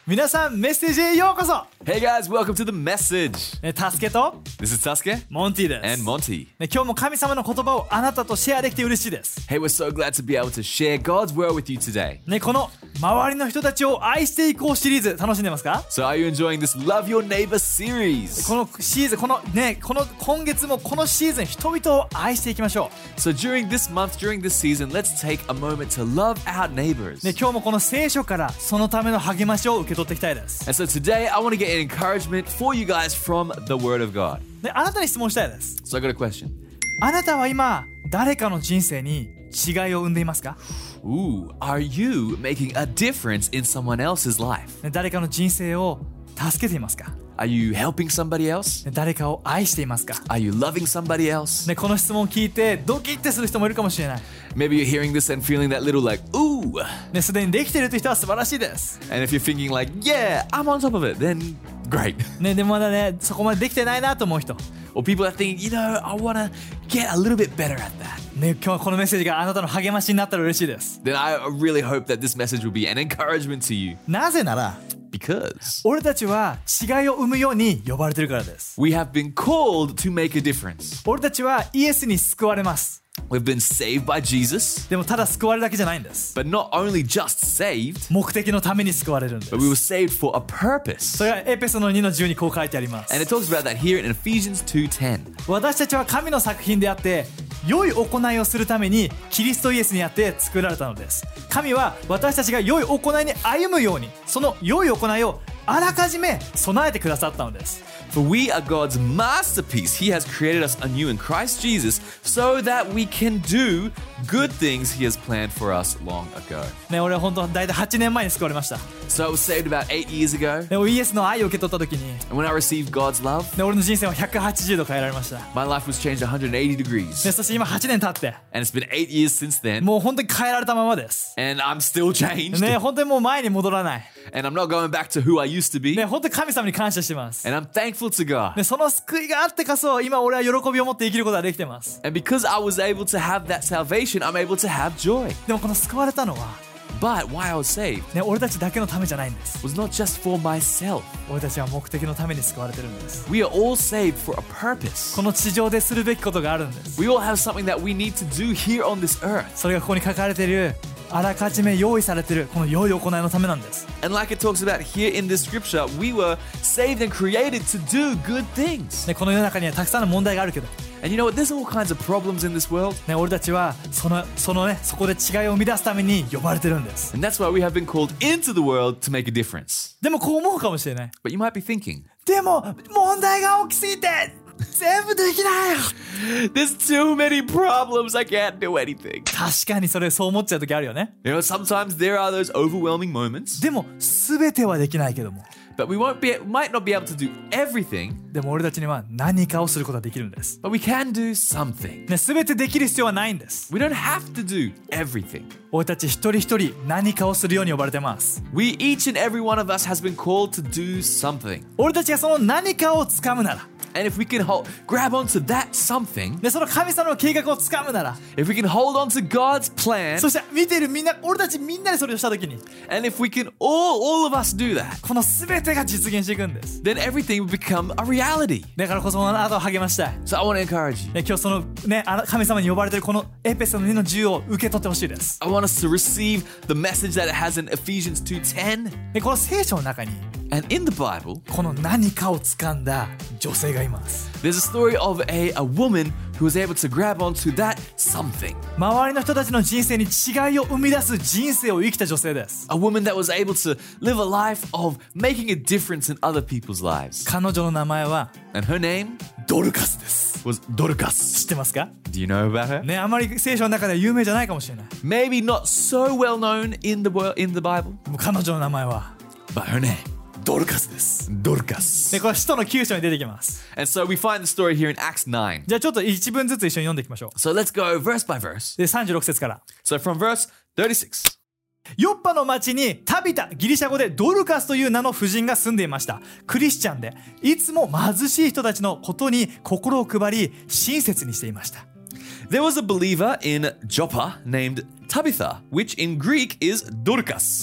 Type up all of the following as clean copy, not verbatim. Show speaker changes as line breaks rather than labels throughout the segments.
皆さんメッセージへようこそ。
Hey guys, welcome to the message.
タスケと
This is Sasuke
モンティです。
and Monty.
今日も神様の言葉をあなたとシェアできて嬉しいです。
Hey, we're so glad to be able to share God's word with you today.
この周りの人たちを愛していこうシリーズ楽しんでますか？
So are you enjoying this Love Your Neighbor series?
このシーズン、今月もこのシーズン人々を愛していきましょ
So during this month, during this season, let's take a moment to love our neighbors.
う。今日もこの聖書からそのための励ましを受け取っていきたいです。
And so today I want to get an encouragement for you guys from the Word of God.
あなたに質問したいです。
So I got a question.
あなたは今誰かの人生に違いを生んでいますか？
Ooh, are you making a difference in someone else's life?
誰かの人生を助けていますか？
Are you helping somebody else?
誰かを愛していますか？
Are you loving somebody else?
この質問を聞いてドキッてする人もいるかもしれない。
Maybe you're hearing this and feeling that little like, ooh.
すでにできているという人は素晴らしいです。
And if you're thinking like, yeah, I'm on top of it, then great.
でもまだそこまでできてないなと思う人。
Or people that think, I want to get a little bit better at that.
今日はこのメッセージがあなたの励ましになったら嬉しいです。
Then I really hope that this message will be an encouragement to you.
なぜなら
Because
俺たちは違いを生むように呼ばれているからです。
we have been called to make a difference.
俺たちはイエスに救われます。
We've been saved by Jesus,
でもただ救われるだけじゃないんです。
but not only just saved,
目的のために救われるんです。
but we were saved for a purpose.
それはエペソの2の10にこう書いてあります。
And it talks about that here in Ephesians 2:10.
私たちは神の作品であって良い行いをするためにキリストイエスにあって作られたのです。神は私たちが良い行いに歩むようにその良い行いをあらかじめ備えてくださったのです。
For we are God's masterpiece. He has created us anew in Christ Jesus so that we can do good things He has planned for us long ago.
俺は本当だいたい8年前に救われました。
So I was saved about 8 years ago.
でもイエスの愛を受け取った時に
And when I received God's love,
俺の人生は180度変えられました。
my life was changed 180 degrees.
そして今8年経って
And it's been 8 years since then.
もう本当に変えられたままです。
And I'm still changed.
本当にもう前に戻らない。
And I'm not going back to who I used to be.
本当に神様に感謝してます。
And I'm thankful to God.
その救いがあってこそ今俺は喜びを持って生きることができてます。
And because I was able to have that salvation, I'm able to have joy.
でもこの救われたのは
But why I was saved
俺たちだけのためじゃないんです。
was not just for myself.
俺たちは目的のために救われてるんです。
We are all saved for a purpose.
この地上でするべきことがあるんです。
We all have something that we need to do here on this earth.
それがここに書かれているあらかじめ用意されているこの良い行いのためなんです。
And like it talks about here in this scripture, we were saved and created to do good things.
この世の中にはたくさんの問題があるけど、
And you know what? There's all kinds of problems in this world.
俺たちはそこで違いを生み出すために呼ばれてるんです。
And that's why we have been called into the world to make a difference.
でもこう思うかもしれない。
But you might be thinking,
でも問題が大きすぎて全部できないよ。
there's too many problems, I can't do anything.
確かにそう思っちゃう時あるよね。
You know, sometimes there are those overwhelming moments,
でも全てはできないけども、
but we might not be able to do everything,
でも俺たちには何かをすることができるんです。
but we can do something.
全てできる必要はないんです。
We don't have to do everything.
俺たち一人一人何かをするように呼ばれてます。
We, each and every one of us has been called to do something.
俺たちがその何かを掴むなら、
And if we can grab onto that something,
その神様の計画を掴むなら、
if we can hold on to God's plan,
そして見ているみんな、俺たちみんなでそれをしたときに、
and if we can all of us do that,
この全てが実現していくんです。
then everything will become a reality.
だからこそあなたを励ましたい。
So I want to encourage you.
今日その神様に呼ばれているこのエペソの2の10を受け取ってほしいです。
I want us to receive the message that it has in Ephesians 2:10.
この聖書の中に
And in the Bible,
この何かを掴んだ女性がいます。
there's a story of a woman who was able to grab onto that something.
周りの人たちの人生に違いを生み出す人生を生きた女性です。
A woman that was able to live a life of making a difference in other people's lives.
彼女の名前は
And her name
ドルカスです。
was Dorcas.
知ってますか？
Do you know about her?
あまり聖書の中では有名じゃないかもしれない。
Maybe not so well known in the Bible,
もう彼女の名前は
but her name
ドルカスです。
Dorcas.
これ使徒の9章に出てきます。
And so we find the story here in Acts 9.
じゃあちょっと一文ずつ一緒に読んでいきましょう。
So let's go verse by verse.
で36節から。
So from verse 36.
ヨッパの町にタビタ、ギリシャ語でドルカスという名の婦人が住んでいました。クリスチャンでいつも貧しい人たちのことに心を配り親切にしていました。
There was a believer in Joppa named Tabitha, which in Greek is Dorcas.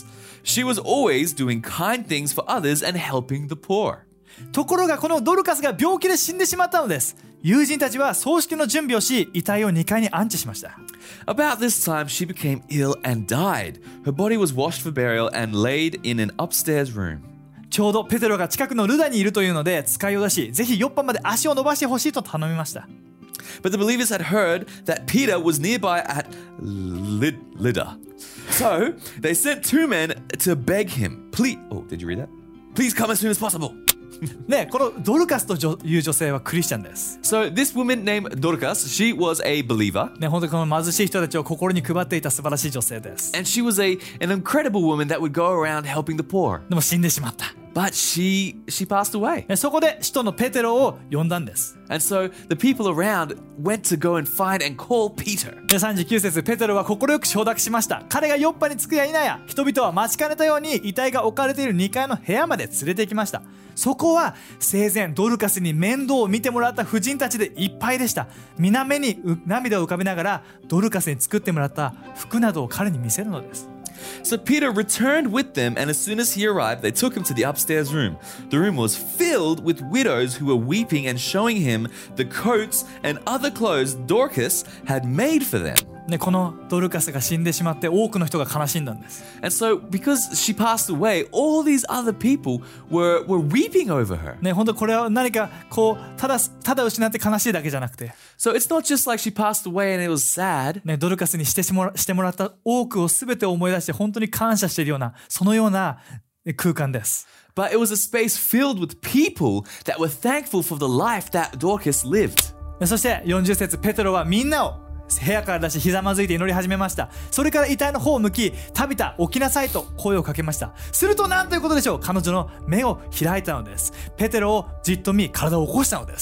She was always doing kind things for others and helping the poor.
ところがこのドルカスが病気で死んでしまったのです。友人たちは葬式の準備をし、遺体を2階に安置しました。
About this time, she became ill and died. Her body was washed for burial and laid in an upstairs room.
ちょうどペテロが近くのルダにいるというので使いを出し、ぜひヨッパまで足を伸ばしてほしいと頼みました。
But the believers had heard that Peter was nearby at Lydda. So they sent 2 men to beg him. Please, did you read that? Please come as soon as possible.
ね、このドルカスという女性はクリスチャンです。
So this woman named Dorcas, she was a believer.
ね、本当にこの貧しい人たちを心に配っていた素晴らしい女性です。
And she was an incredible woman that would go around helping the poor.
でも死んでしまった。
But she passed away.
そこで使徒のペテロを呼んだんです。
And so the people around went to go and find and call Peter.
39節、ペテロは快く承諾しました。彼がヨッパに着くや否や、人々は待ちかねたように遺体が置かれている2階の部屋まで連れて行きました。そこは生前ドルカスに面倒を見てもらった婦人たちでいっぱいでした。皆目に涙を浮かべながらドルカスに作ってもらった服などを彼に見せるのです。
So Peter returned with them, and as soon as he arrived, they took him to the upstairs room. The room was filled with widows who were weeping and showing him the coats and other clothes Dorcas had made for them.
ね、このドルカスが死んでしまって多くの人が悲しんだんです。
And so because she passed away, all these other people were weeping over her.
ね、本当これは何かこうただ失って悲しいだけじゃなくて、
So it's not just like she passed away and it was sad.
ね、ドルカスにしてもらった多くを全て思い出して本当に感謝しているようなそのような空間です。
But it was a space filled with people that were thankful for the life that Dorcas lived.
そして40節、ペテロはみんなを部屋から出しひざまずいて祈り始めました。それから遺体の方を向き、タビタ起きなさいと声をかけました。すると何ということでしょう。彼女の目を開いたのです。ペテロをじっと見、体を起こしたのです。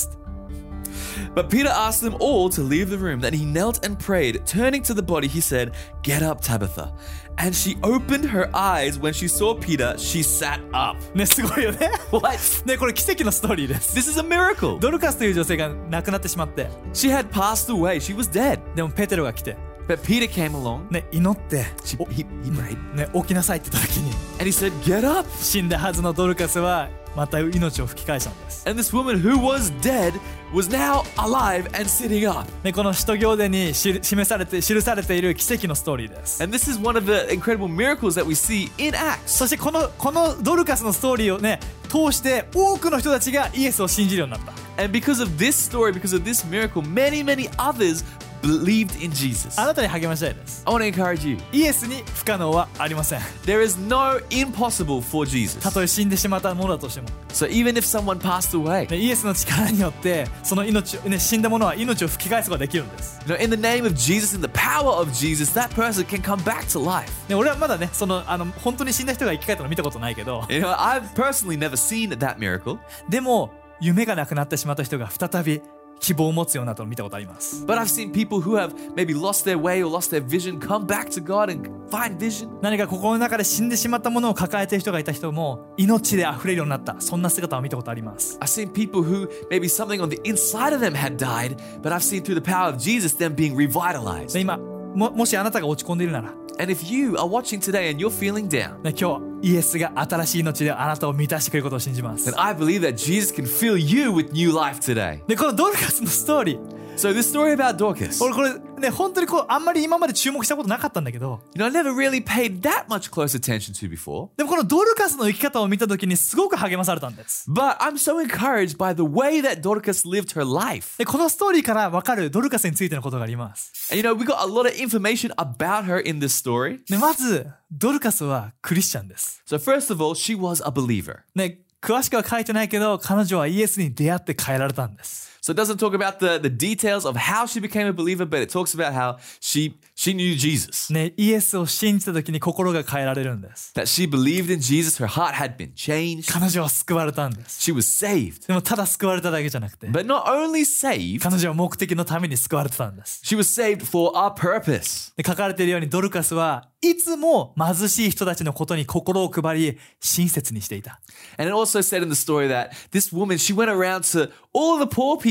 But Peter asked them all to leave the room. Then he knelt and prayed. Turning to the body, he said, "Get up, Tabitha." And she opened her eyes. When she saw Peter, she sat up.
ね、すごいよね。
What?
ね、これ奇跡のストーリーです。
This is a miracle.
ドルカスという女性が亡くなってしまって、
She had passed away. She was dead.
でもペテロが来て、
But Peter came along.
ね、祈って、
He prayed.
ね、起きなさいって言った時に、
And he said, "Get up."
死んだはずのドルカスはまた命を吹き返したんです。
And this woman who was dead was now alive and sitting up.
ね、この使徒行伝に記されている奇跡のストーリーです。
And this is one of the incredible miracles that we see in Acts.
そしてこのドルカスのストーリーをね通して多くの人たちがイエスを信じるようになった。
And because of this story, because of this miracle, many others believed in Jesus.
あなたに励ましたいです。
I want to encourage you.
イエスに不可能はありません。
There is no impossible for Jesus.
たとえ死んでしまったものだとしても、
So even if someone passed away,
ね、イエスの力によってその命、ね、死んだものは命を吹き返すことができるんです。
in the name of Jesus, in the power of Jesus, that person can come back to life.
ね、俺はまだね本当に死んだ人が生き返ったの見たことないけど、
I've personally never seen that miracle.
でも夢がなくなってしまった人が再び希望を持つようになったのを見たことあります。
But I've seen people who have maybe lost their way or lost their vision come back to God and find vision.
何か心の中で死んでしまったものを抱えている人がいた人も命で溢れるようになった、そんな姿を見たことあります。
I've seen people who maybe something on the inside of them had died, but I've seen through the power of Jesus them being revitalized.
で今もしあなたが落ち込んでいるなら、
And if you are watching today and you're feeling down,
ね、今日イエスが新しい命であなたを満たしてくれることを信じます。
then I believe that Jesus can fill you with new life today.
でこのドルカスのストーリー、
So this story about Dorcas,
俺これね本当にあんまり今まで注目したことなかったんだけど、
I never really paid that much close attention to before.
でもこのドルカスの生き方を見た時にすごく励まされたんです。
But I'm so encouraged by the way that Dorcas lived her life.
でこのストーリーから分かるドルカスについてのことがあります。
And we got a lot of information about her in this story.
でまずドルカスはクリスチャンです。
So first of all, she was a believer.
ね、詳しくは書いてないけど彼女はイエスに出会って変えられたんです。
So it doesn't talk about the details of how she became a believer, but it talks about how she knew Jesus.
ね、イエスを信じた時に心が変えられるんです。
That she believed in Jesus, her heart had been changed.
彼女は救われたんです。
She was saved.
でもただ救われただけじゃなくて、
But not only saved,
彼女は目的のために救われてたんです。
she was saved for a purpose.
で書かれているようにドルカスはいつも貧しい人たちのことに心を配り親切にしていた。
And it also said in the story that this woman, she went around to all the poor people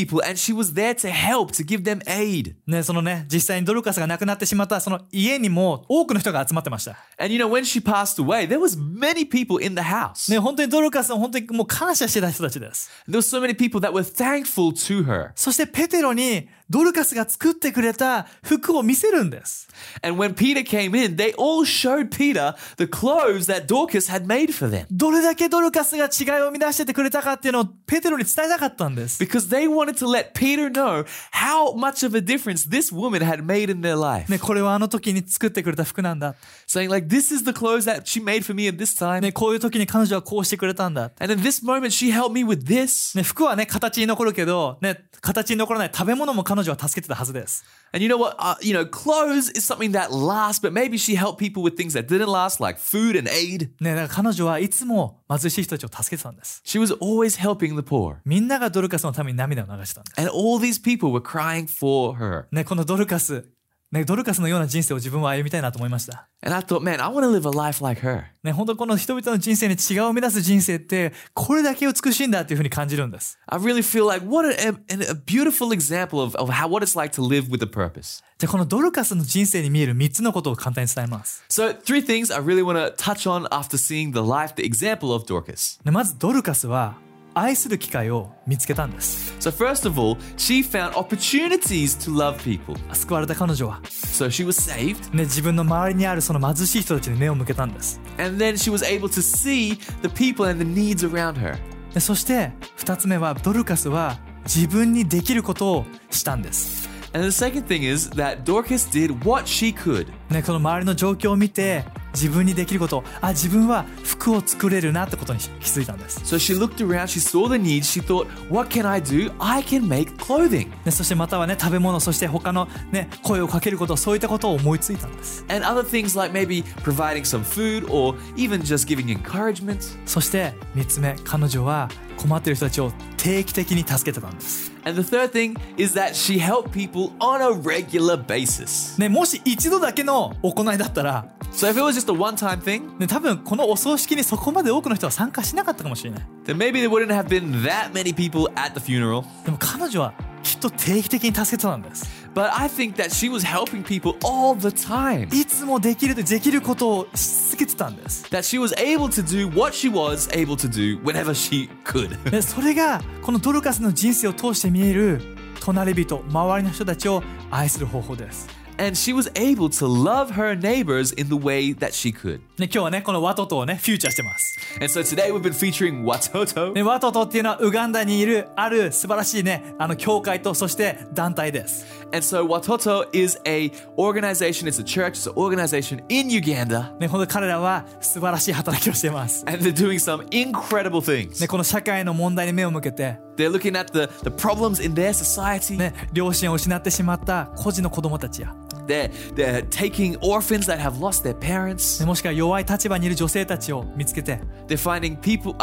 people and she was there to help, to give them aid.
ね、そのね、実際にドルカスが亡くなってしまったその家にも多くの人が集まってました。
And when she passed away, there was many people in the house.
ね、本当にドルカスを本当にもう感謝してた人たちです。
There were so many people that were thankful to her.
そしてペテロにドルカスが作ってくれた服を見せるんです。
And when Peter came in, they all showed Peter the clothes that Dorcas had made for them.
どれだけドルカスが違いを生み出しててくれたかっていうのをペテロに伝えたかったんです。
Because they wanted to let Peter know how much of a difference this woman had made in their life.
ね、これはあの時に作ってくれた服なんだ。
Saying like, this is the clothes that she made for me at this time.
ね、こういう時に彼女はこうしてくれたんだ。
And in this moment, she helped me with this.
ね、服はね、形に残るけど、ね、形に残らない食べ物も彼女は助けてたはずです。
And you know what? Clothes is something that lasts, but maybe she helped people with things that didn't last, like food and aid.
ね、だから彼女はいつも貧しい人たちを助けてたんです。
She was always helping the poor.
みんながドルカスのために涙を流してたんです。
And all these people were crying for her.
ね、このドルカスのような人生を自分は歩みたいなと思いました。
And I thought, man, I want to live a life like her.
ね、本当この人々の人生に違いを生み出す人生ってこれだけ美しいんだっていうふうに感じるんです。
I really feel like what a beautiful example of what it's like to live with a purpose.
じゃあこのドルカスの人生に見える3つのことを簡単に伝えます。
So 3 things I really want to touch on after seeing the example of Dorcas.
まずドルカスは愛する機会を見つけたんです。
So first of all, she found opportunities to love people.
救われた彼女は、
So she was saved.
ね、自分の周りにあるその貧しい人たちに目を向けたんです。
And then she was able to see the people and the needs around her.
でそして2つ目はドルカスは自分にできることをしたんです。
And the second thing is that Dorcas did what she could.
ね、この周りの状況を見て自分にできること、自分は服を作れるなってことに気づいたんです。
So she looked around, she saw the needs, she thought, what can I do? I can make clothing.
ね、そしてまたはね、食べ物、そして他のね、声をかけること、そういったことを思いついたんです。
And other things like maybe providing some food or even just giving encouragement.
そして3つ目、彼女は困っている人たちを定期的に助けてたんです。
And the third thing is that she helped people on a regular basis.
ね、もし一度だけの行いだったら、
So if it was just a one-time thing,
ね、多分このお葬式にそこまで多くの人は参加しなかったかもしれない。
then maybe there wouldn't have been that many people at the funeral.
でも彼女はきっと定期的に助けてたんです。
But I think that she was helping people all the time.
いつもできることをし続けてたんです。
That she was able to do what she was able to do whenever she could.
でそれがこのドルカスの人生を通して見える隣人、周りの人たちを愛する方法です。
And she was able to love her neighbors in the way that she could.
ね、今日はね、このワトトをね、フューチャーしてます。
And so today we've been featuring Watoto.
ね、ワトトっていうのはウガンダにいるある素晴らしいね、教会とそして団体です。
And so Watoto is a organization, it's a church, it's an organization in Uganda.
ね、本当に彼らは素晴らしい働きをしています。
And they're doing some incredible things.
ね、この社会の問題に目を向けて、
They're looking at the problems in their society.
ね、両親を失ってしまった孤児の子供たちや、
They're taking orphans that have lost their parents.
ね、もしくは弱い立場にいる女性たちを見つけて、
They're finding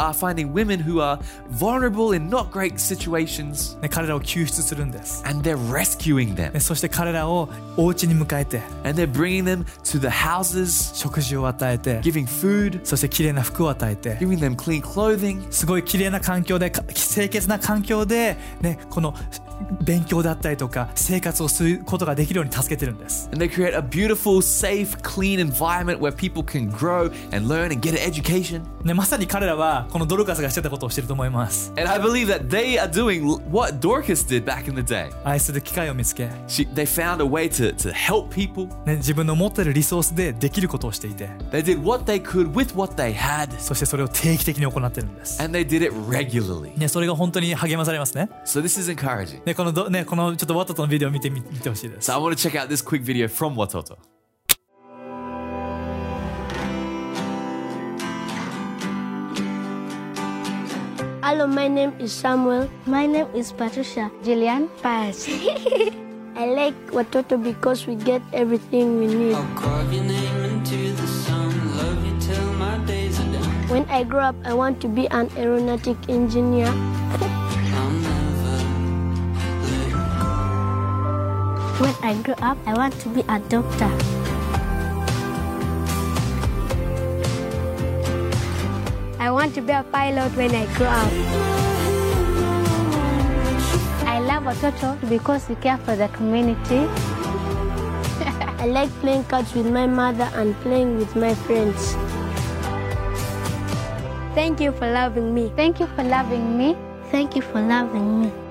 women who are vulnerable in not great situations.
ね、彼らを救出するんです。
And they're rescuing them.
ね、そして彼らをお家に迎えて、
And they're bringing them to the houses,
食事を与えて、
giving food,
そして綺麗な服を与えて、
giving them clean clothing.
すごい綺麗な環境で、清潔な環境で、ね、この勉強だったりとか生活をすることができるように助けてるんです。
And they create a beautiful, safe, clean environment where people can grow and learn and get an education.
ね、まさに彼らはこのドルカスがしてたことをしてると思います。
And I believe that they are doing what Dorcas did back in the day.
愛する機会を見つけ、
They found a way to help people.
ね、自分の持っているリソースでできることをしていて、
They did what they could with what they had.
そしてそれを定期的に行ってるんです。
And they did it regularly.
ね、それが本当に励まされますね。
So this is encouraging.
ね、このちょっとワトトのビデオを見てほしいです。
So I want to check out this quick video from Watoto.
Hello, my name is Samuel.
My name is Patricia.
Jillian.
Paz.
I like Watoto because we get everything we need.
I'll carve your name into the sun, love you till my days are done.
When I grow up, I want to be an aeronautic engineer.
I'll never let go.
When I grow up, I want to be a doctor.
I want to be a pilot when I grow up.
I love love Watoto because you care for the community.
I like playing cards with my mother and playing with my friends. Thank you for loving me.
Thank you for loving me. Thank you for loving me.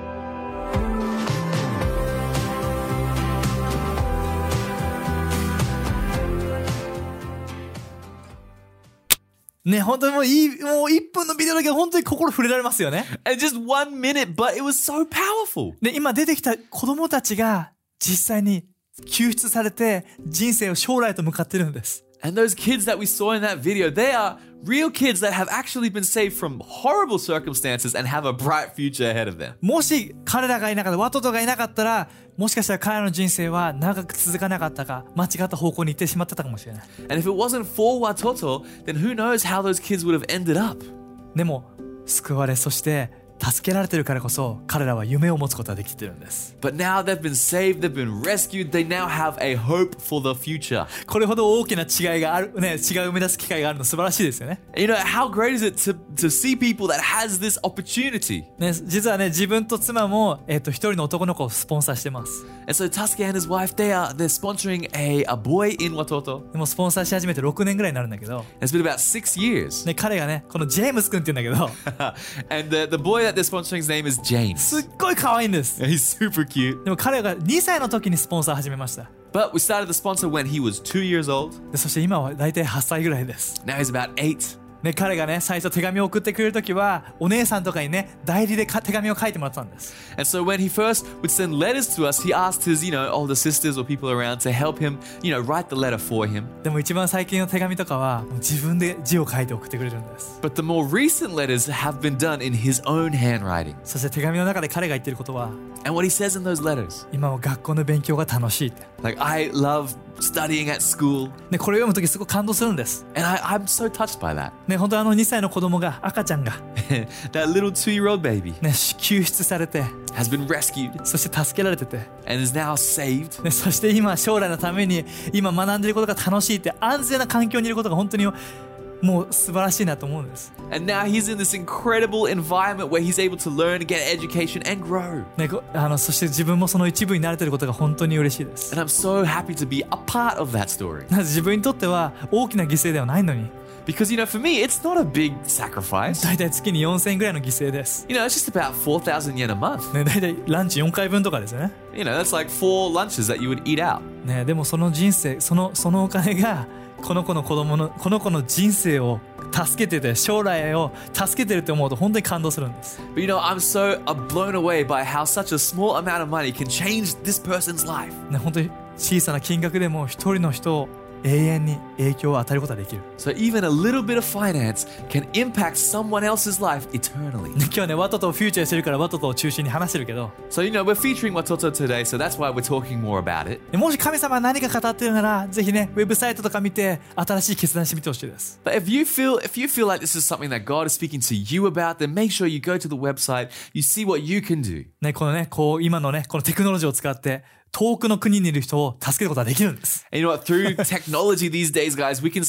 ね、本当にもう1分のビデオだけど本当に心触れられますよね。
And just 1 minute, but it was so powerful.
で、今出てきた子供たちが実際に救出されて人生を将来と向かってるんです。
And those kids that we saw in that video, they are real kids that have actually been saved from horrible circumstances and have a bright future ahead of them.
もし彼らがいなかった、ワトトがいなかったら、もしかしたら彼らの人生は長く続かなかったか、間違った方向に行ってしまってたかもしれない。
And if it wasn't for Watoto, then who knows how those kids would have ended up.
でも、救われ、そして助けられてるからこそ、彼らは夢を持つことができてるんです。
But now they've been saved, they've been rescued, they now have a hope for the future.
これほど大きな違いがある、ね、違いを生み出す機会があるの素晴らしいですよね。
You know, how great is it to see people that has this opportunity?
ね、実はね、自分と妻も、一人の男の子をスポンサーしてます。
And so Tasuke and his wife, they're sponsoring a boy in Watoto.
でもスポンサーし始めて6年ぐらいになるんだけど、
It's been about 6 years.
ね、彼がね、このジェームス君って言うんだけど、
And the boy that they're sponsoring, his name is James.
すっごい可愛いんです。
He's super cute.
でも彼が2歳の時にスポンサー始めました。
But we started the sponsor when he was 2 years old.
でそして今は大体8歳ぐらいです。
Now he's about 8.
ね、彼がね、最初手紙を送ってくれる時は、お姉さんとかにね、代理で手紙を書いてもらったんです。
And so when he first would send letters to us, he asked his, older sisters or people around to help him, write the letter for him.
でも一番最近の手紙とかは、もう自分で字を書いて送ってくれるんです。
But the more recent letters have been done in his own handwriting.
そして手紙の中で彼が言ってることは、
And what he says in those letters,
今は学校の勉強が楽しいって。
like, I love studying at school.
ね、これを読む時すごい感動するんです。
And I'm so touched by that.
ね、本当2歳の子供が、赤ちゃんが、
That little 2-year-old baby
ね、救出されて、
has been rescued
そして助けられてて、
and is now saved.
ね、そして今将来のために今学んでいることが楽しいって安全な環境にいることが本当にもう素晴らしいなと思うんです。
And now he's in this incredible environment where he's able to learn, get education, and grow.
ね、そして自分もその一部になれていることが本当に嬉しいです。
And I'm so happy to be a part of that story.
なぜ自分にとっては大きな犠牲ではないのに、
Because, for me, it's not a big sacrifice.
だいたい月に4000円ぐらいの犠牲です。
It's just about 4,000 yen a month.
ね、だいたいランチ4回分とかですね。
That's like 4 lunches that you would eat out.
ね、でもその人生、そのお金がこの子の人生を助けてて、将来を助けてるって思うと本当に感動するんです。
But I'm so blown away by how such a small amount of money can change this person's life.
ね、本当に小さな金額でも一人の人を永遠に影響を与えることができる。
So even a little bit of finance can impact someone else's life eternally.
今日はね、ワトトをフューチャーしてるからワトトを中心に話してるけど、
So, we're featuring Watoto today, so that's why we're talking more about it.
もし神様が何か語ってるなら、ぜひね、ウェブサイトとか見て新しい決断してみてほしいです。
But if you feel like this is something that God is speaking to you about, then make sure you go to the website, you see what you can do.
ね、このね、今のね、このテクノロジーを使って遠くの国にいる人を助けることができるんです。
And you know what? Through technology these days, guys, we can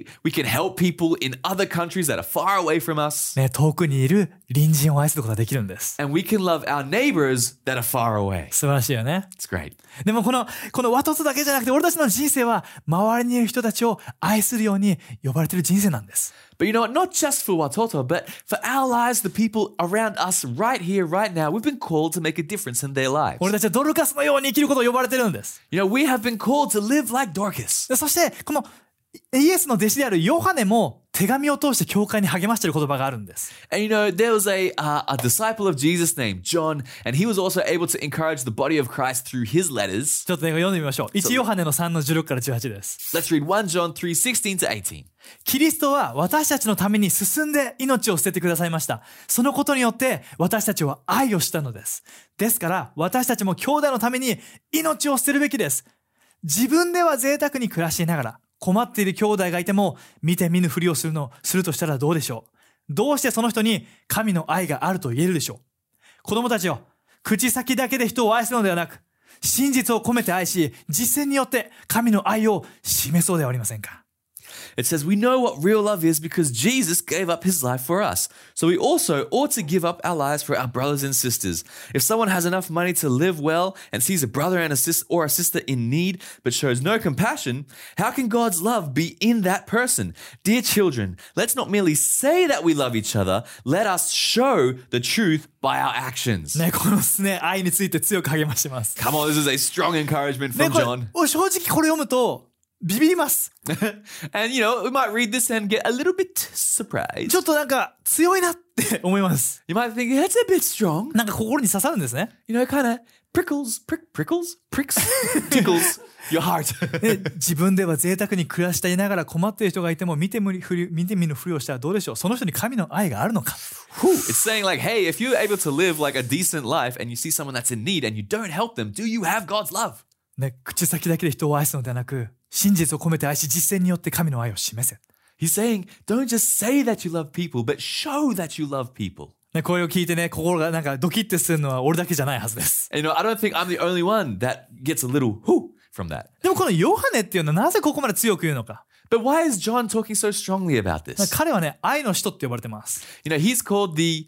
help people in other countries that are far away from us.
ね、遠くにいる隣人を愛することができるんです。
And we can love our neighbors that are far away.
素晴らしいよね。
It's great.
でもこのワトトだけじゃなくて、俺たちの人生は周りにいる人たちを愛するように呼ばれている人生なんです。
But you know what? Not just for Watoto, but for our lives, the people around us right here, right now, we've been called to make a difference in their lives.
俺たちはドルカスのように生きることを呼ばれてるんです。
We have been called to live like Dorcas.
そしてこのイエスの弟子であるヨハネも手紙を通して教会に励ましている言葉があるんです。
And there was a disciple of Jesus named John, and he was also able to encourage the body of Christ through his letters.
ちょっとね、読んでみましょう。1ヨハネの3の16から18です。
Let's read 1 John 3:16 to 18.
キリストは私たちのために進んで命を捨ててくださいました。そのことによって私たちは愛をしたのです。ですから私たちも兄弟のために命を捨てるべきです。自分では贅沢に暮らしながら困っている兄弟がいても見て見ぬふりをするとしたらどうでしょう。どうしてその人に神の愛があると言えるでしょう。子供たちよ、口先だけで人を愛すのではなく、真実を込めて愛し、実践によって神の愛を示そうではありませんか。
It says, we know what real love is because Jesus gave up his life for us. So we also ought to give up our lives for our brothers and sisters. If someone has enough money to live well and sees a brother and a sister in need but shows no compassion, how can God's love be in that person? Dear children, let's not merely say that we love each other. Let us show the truth by our actions.
ね、このですね、愛について強く励ましてます。
Come on, this is a strong encouragement
ね、
from
これ
John.
正直これ読むとビビります。
And, we might read this and get a little bit surprised.
ちょっとなんか強いなって思います。
You might think, that's a bit strong.
なんか心に刺さるんですね。
Kind of pricks, tickles your heart.
で自分では贅沢に暮らしていながら困っている人がいても見て見ぬふりをしたらどうでしょう。その人に神の愛があるのか。
It's saying like, hey, if you're able to live like a decent life and you see someone that's in need and you don't help them, do you have God's love?
ね、口先だけで人を愛すのではなく、真実を込めて愛し実践によって神の愛を示せ。
He's saying, don't just say that you love people, but show that you love people.
ね、これを聞いてね、心がなんかドキッてするのは俺だけじゃないはずです。
And, I don't think I'm the only one that gets a little whoo from that.
でもこのヨハネっていうのはなぜここまで強く言うのか。
But why is John talking so strongly about this?
彼はね、愛の使徒って呼ばれてます。
He's called the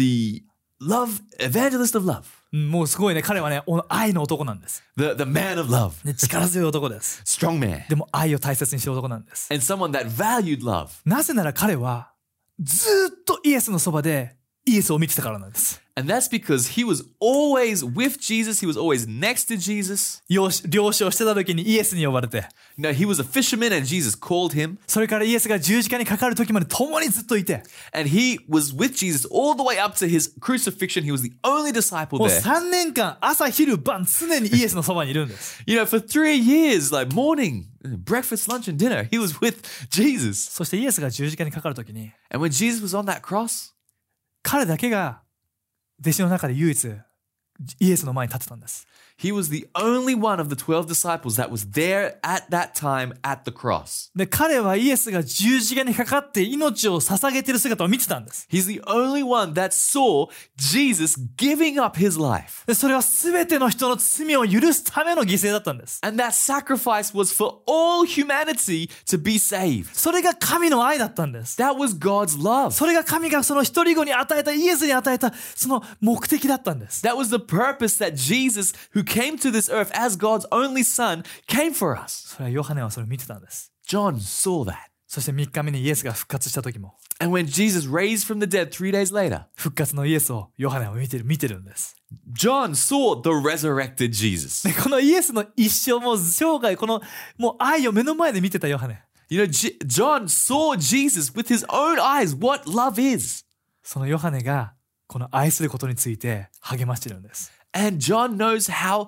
love evangelist of love.
もうすごいね、彼はね、愛の男なんです。
The man of love.
ね、力強い男です。
Strong man.
でも愛を大切にしてる男なんです。
And someone that valued love.
なぜなら彼はずっとイエスのそばでイエスを見てたからなんです。
And that's because he was always with Jesus. He was always next to Jesus.
漁師をしてた時にイエスに呼ばれて、
He was a fisherman and Jesus called him.
それからイエスが十字架にかかる時まで共にずっといて、
And he was with Jesus all the way up to his crucifixion. He was the only disciple
もう
there.
3年間朝昼晩常にイエスのそばにいるんです。
For 3 years, like morning, breakfast, lunch, and dinner, he was with Jesus.
そしてイエスが十字架にかかる時に、
And when Jesus was on that cross,
彼だけが弟子の中で唯一イエスの前に立ってたんです。
he was the only one of the 12 disciples that was there at that time at the cross.
で、彼はイエスが十字架にかかって命を捧げている姿を見てたんです。
He's the only one that saw Jesus giving up his life.
で、それは全ての人の罪を許すための犠牲だったんです。
And that sacrifice was for all humanity to be saved.
それが神の愛だったんです。
That was God's love.
それが神がその一人子に与えた、イエスに与えたその目的だったんです。
That was the purpose that Jesus, who came to this earth as God's only son, came for us.
それはヨハネはそれを見てたんです。
John saw that.
そして3日目にイエスが復活した時も、
And when Jesus raised from the dead 3 days later,
復活のイエスをヨハネは見てるんです。
John saw the resurrected Jesus.
でこのイエスの一生も生涯もう愛を目の前で見てたヨハネ。
John saw Jesus with his own eyes what love is.
そのヨハネがこの愛することについて励ましてるんです。
And John knows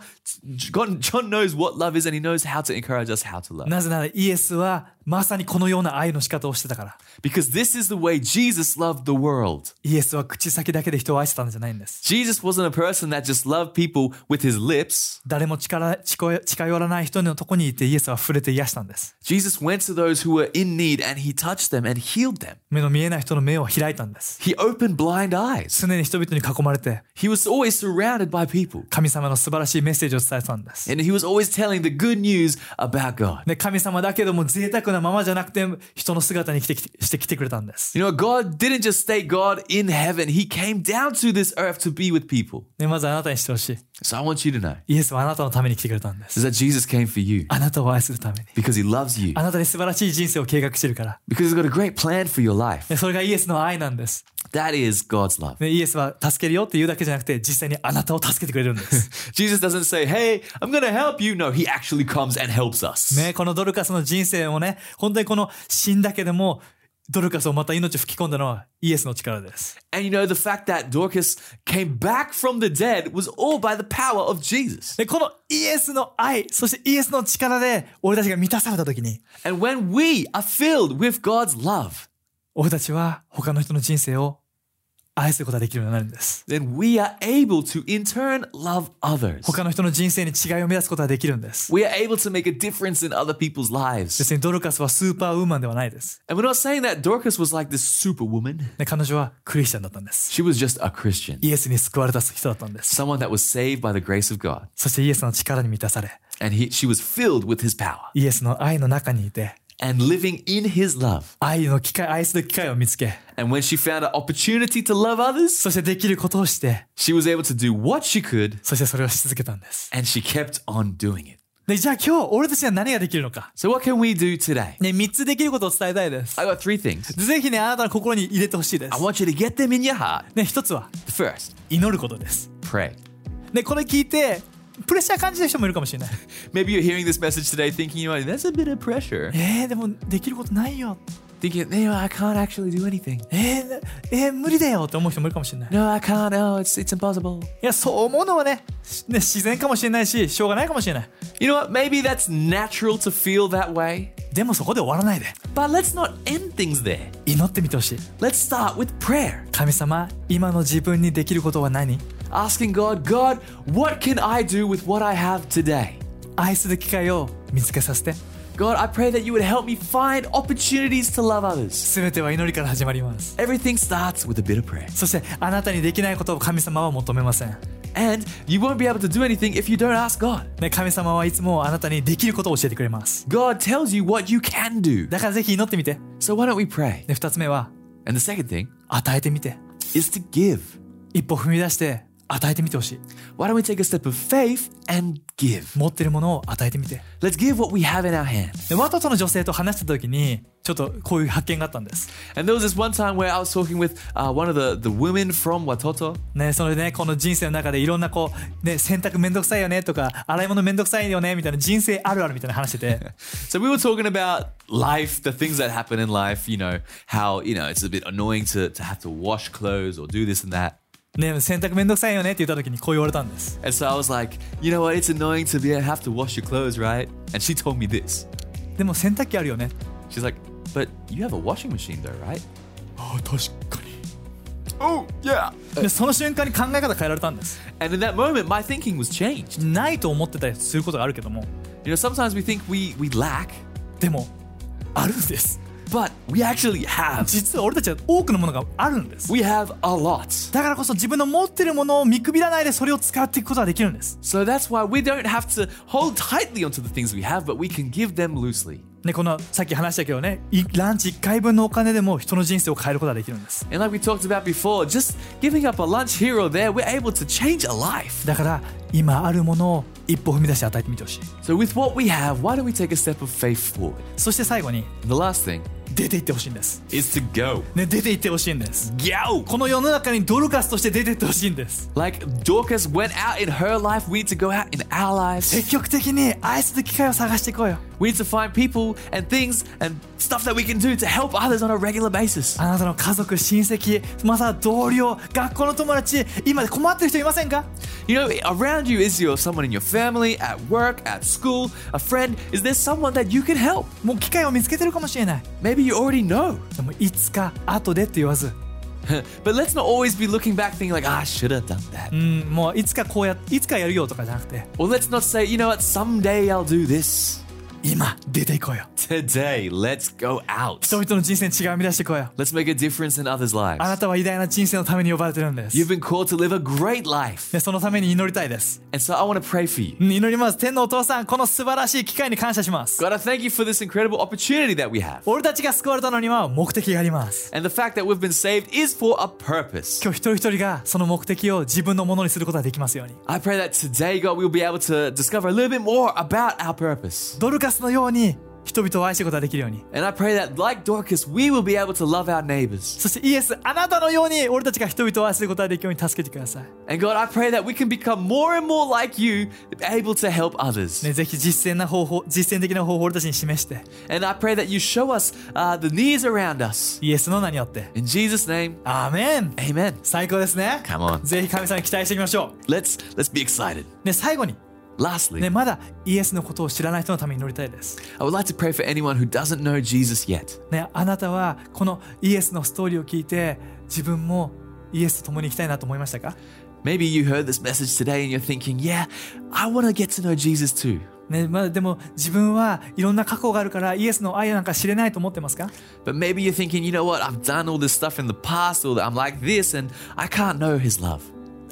what love is, and he knows how to encourage us how to love.
なぜならイエスはまさにこのような愛の仕方をしてたから。
Because this is the way Jesus loved the world.
イエスは口先だけで人を愛してたんじゃないんです。
Jesus wasn't a person that just loved people with his lips.
誰も近寄らない人のとこにいてイエスは触れて癒したんです。
Jesus went to those who were in need and he touched them and healed them.
目の見えない人の目を開いたんです。
He opened blind eyes.
常に人々に囲まれて
He was always surrounded by people.
神様の素晴らしいメッセージを伝えたんです。
And he was always telling the good news about God.
で、神様だけども贅沢なままじゃなくて人の姿にしてきてくれたんです。
God didn't just stay God in heaven. He came down to this earth to be with people.
で、まずあなたにしてほしい。
So I want you to know
イエスはあなたのために来てくれたんです。
is that Jesus came for you
あなたを愛するために。
because he loves you.
あなたに素晴らしい人生を計画してるから。
Because he's got a great plan for your life.
で、それがイエスの愛なんです。
That is God's love.
で、イエスは助けるよって言うだけじゃなくて実際にあなたを助けてくれるんです。
Jesus doesn't say, hey, I'm going to help you. No, he actually comes and helps us.
ね、このドルカスの人生をね、本当にこの死んだけどもドルカスをまた命を吹き込んだのはイエスの力です。
And the fact that Dorcas came back from the dead was all by the power of Jesus.
で、このイエスの愛、そしてイエスの力で俺たちが満たされた時に、
And when we are filled with God's love,
俺たちは他の人の人生を愛することができるようになるんです。
then we are able to in turn love others.
他の人の人生に違いを生み出すことができるんです。
We are able to make a difference in other people's lives.
別にドルカスはスーパーウーマンではないです。
And we're not saying that Dorcas was like this superwoman.
で、彼女はクリスチャンだったんです。
She was just a Christian.
イエスに救われた人だったんです。
Someone that was saved by the grace of God.
そしてイエスの力に満たされ、
And she was filled with his power.
イエスの愛の中にいて、
and living in his love.
愛する機会を見つけ、
And when she found an opportunity to love others,
そしてできることをして、
she was able to do what she could,
そしてそれをし続けたんです。
and she kept on doing it.
で、じゃあ今日俺たちには何ができるのか。
So what can we do today?
ね、3つできることを伝えたいです。
I got 3 things.
ぜひね、あなたの心に入れてほしいです
I。want you to get them in your heart.
ね、1つは
The first,
祈ることです。
pray.
ね、これ聞いてプレッシャー感じる人もいるかもしれない。
Maybe you're hearing this message today thinking, that's a bit of pressure.
でもできることないよ。
Thinking, I can't actually do anything.
無理だよって思う人もいるかもしれない。
No, I can't. No, it's impossible.
いや、そう思うのはね、自然かもしれないし、しょうがないかもしれない。
You know what? Maybe that's natural to feel that way.
でもそこで終わらないで。
But let's not end things there.
祈ってみてほしい。
Let's start with prayer.
神様、今の自分にできることは何？
Asking God, what can I do with what I have today?
愛する機会を見つけさせて。
God, I pray that you would help me find opportunities to love others.
すべては祈りから始まります。
Everything starts with a bit of prayer.
そしてあなたにできないことを神様は求めません。
And you won't be able to do anything if you don't ask God.
ね、神様はいつもあなたにできることを教えてくれます。
God tells you what you can do.
だからぜひ祈ってみて。
So why don't we pray?
で、2つ目は
And the second thing
与えてみて。
is to give.
一歩踏み出して与えてみてほしい。
Why don't we take a step of faith and give?
持ってるものを与えてみて。
Let's give what we have in our hand.
で、ワトトの女性と話してた時にちょっとこういう発見があったんです。
And there was this one time where I was talking with one of the women from Watoto.
ね、それでね、この人生の中でいろんなこう、ね、洗濯めんどくさいよねとか洗い物めんどくさいよねみたいな人生あるあるみたいな話してて
So we were talking about life, the things that happen in life, how, it's a bit annoying to have to wash clothes or do this and that.
ね、洗濯めんどくさいよねって言った時にこう言われたんです。
And so I was like, you know what, it's annoying to have to wash your clothes, right? And she told me this.
でも洗濯機あるよね。
She's like, but you have a washing machine though, right?
ああ、確かに。
Oh, yeah.
で、その瞬間に考え方変えられたんです。
And in that moment, my thinking was changed.
ないと思ってたりすることがあるけども、
Sometimes we think we lack,
でもあるんです。
but we actually have.
実は俺たちは多くのものがあるんです。
We have a lot.
だからこそ自分の持ってるものを見くびらないでそれを使っていくことができるんです。
So that's why we don't have to hold tightly onto the things we have, but we can give them loosely.
ね、このさっき話したけどね、ランチ1回分のお金でも人の人生を変えることができるんです。
And like we talked about before, just giving up a lunch here or there, we're able to change a life.
だから今あるものを一歩踏み出して与えてみてほしい。
So with what we have, why don't we take a step of faith forward?
そして最後に
And the last thing
出て行ってほしいんです。
is to go.
ね、出て行ってほしいんです。
Go!
この世の中にドルカスとして出て行ってほしいんです。
Like Dorcas went out in her life, we need to go out in our lives.
積極的に愛する機会を探していこうよ。
We need to find people and things and stuff that we can do to help others on a regular basis.
あなたの家族、親戚、または同僚、学校の友達、今困ってる人いませんか？
You know, around you is someone in your family, at work, at school, a friend. Is there someone that you can help?
もう機会を見つけてるかもしれない。
Maybe you already know.
でもいつか後でって言わず、
But let's not always be looking back thinking like, I should have done that.
もういつかやるよとかじゃなくて、
Or let's not say, you know what, someday I'll do this.
今出ていこうよ。
Today, let's go out.
人々の人生に違いを生み出していこうよ。
Let's make a difference in others'
あな
lives.
たは偉大な人生のために呼ばれてるんです。
You've been called to live a great life.
で、そのために祈りたいです。
And so I want to pray for you.
祈ります。天のお父さん、この素晴らしい機会に感謝します。
God, I thank you for this incredible opportunity that we have.
俺たちが救われたのには目的があります。
And the fact that we've been saved is for a purpose.
今日一人一人がその目的を自分のものにすることができますように。
I pray that today, God, we'll be able to discover a little bit more about our purpose.
ドルカスのように人々を愛することができるように。
And I pray that, like Dorcas, we will be able to love our neighbors.
そしてイエス、あなたのように俺たちが人々を愛することができるように助けてください。
And God, I pray that we can become more and more like you, able to help others.
ね、ぜひ実践的な方法を俺たちに示して、
And I pray that you show us the needs around us.
イエスの名によって。
In Jesus' name,
アーメン。
amen.
最高ですね。
Come on.
ぜひ神様に期待していきましょ
Let's be excited.
う。ね、最後に、
Lastly,
ね、まだイエスのことを知らない人のために祈りたいです。
I would like to pray for anyone who doesn't know Jesus yet.
ね、あなたはこのイエスのストーリーを聞いて自分もイエスと共に生きたいなと思いましたか？
Maybe you heard this message today and you're thinking, yeah, I want to get to know Jesus too.
ね、でも自分はいろんな過去があるからイエスの愛なんか知れないと思ってますか？
But maybe you're thinking, you know what, I've done all this stuff in the past, or I'm like this and I can't know his love.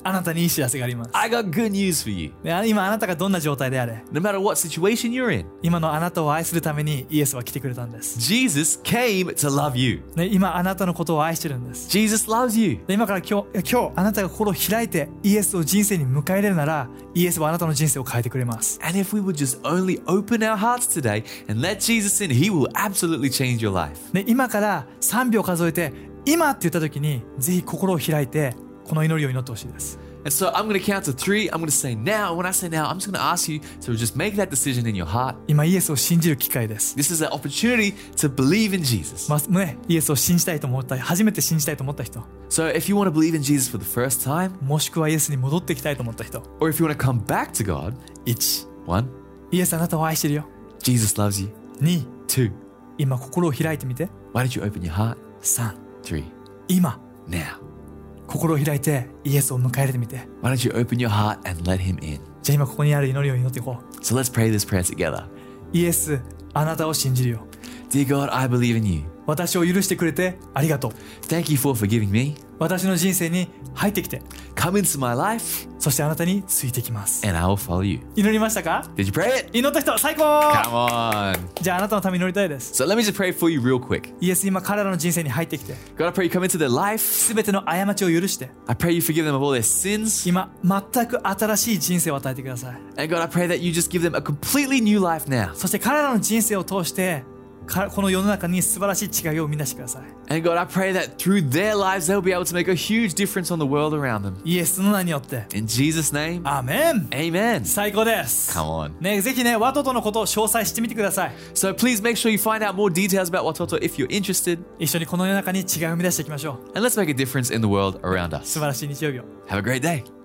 あなたにいい知らせがあります。
I got good news for you.
ね、今あなたがどんな状態であれ、
No matter what situation you're in,
今のあなたを愛するためにイエスは来てくれたんです。
Jesus came to love you.
ね、今あなたのことを愛してるんです。
Jesus loves you.
で今から今日あなたが心を開いてイエスを人生に迎え入れるなら、イエスはあなたの人生を変えてくれます。
And if we would just only open our hearts today and let Jesus in, He will absolutely change your life.
ね、今から3秒数えて今って言った時にぜひ心を開いてこの祈りを祈ってほしいです。
And so I'm going to count to 3. I'm going to say now. When I say now, I'm just going to ask you to just make that decision in your heart.
今イエスを信じる機会です。
This is an opportunity to believe in Jesus.
ね、イエスを信じたいと思った初めて信じたいと思った人、
So if you want to believe in Jesus for the first time,
もしくはイエスに戻ってきたいと思った人、
or if you want to come back to God,
1、
1,
イエスあなたを愛してるよ。
Jesus loves you.
2、
2,
今心を開いてみて。
why don't you open your heart?
3、
3,
今
now.
心を開いてイエスを迎え入れてみて。
Why don't you open your heart and let Him in?
じゃあ今ここにある祈りを祈っていこ
So let's pray this prayer together.
う。イエスあなたを信じるよ。
Dear God, I believe in you.
私を許してくれてありがとう。
Thank you for forgiving me.
私の人生に入ってきて、
Come into my life
そしてあなたについてきます。
and I will follow you.
祈りましたか？
Did you pray it?
祈った人最高。
Come on.
じゃああなたのために祈りたいです。
So let me just pray for you real quick.
イエス今彼らの人生に入ってきて、
God, I pray you come into their life.
すべての過ちを許して、
I pray you forgive them of all their sins.
今全く新しい人生を与えてください。
And God, I pray that you just give them a completely new life now.
そして彼らの人生を通してこの世の中に素晴らしい違いを生み出してください。
And God, I pray that through their lives, they'll be able to make a huge difference on the world around them.
イエスの名によって。
In Jesus' name,
アーメン。
amen.
最高です。
Come on.
ね、ぜひね、ワトトのことを詳細してみてください。
So please make sure you find out more details about Watoto if you're interested.
一緒にこの世の中に違いを生み出していきましょう。
And let's make a difference in the world around
素
us.
晴らしい日曜日を。
Have a great day.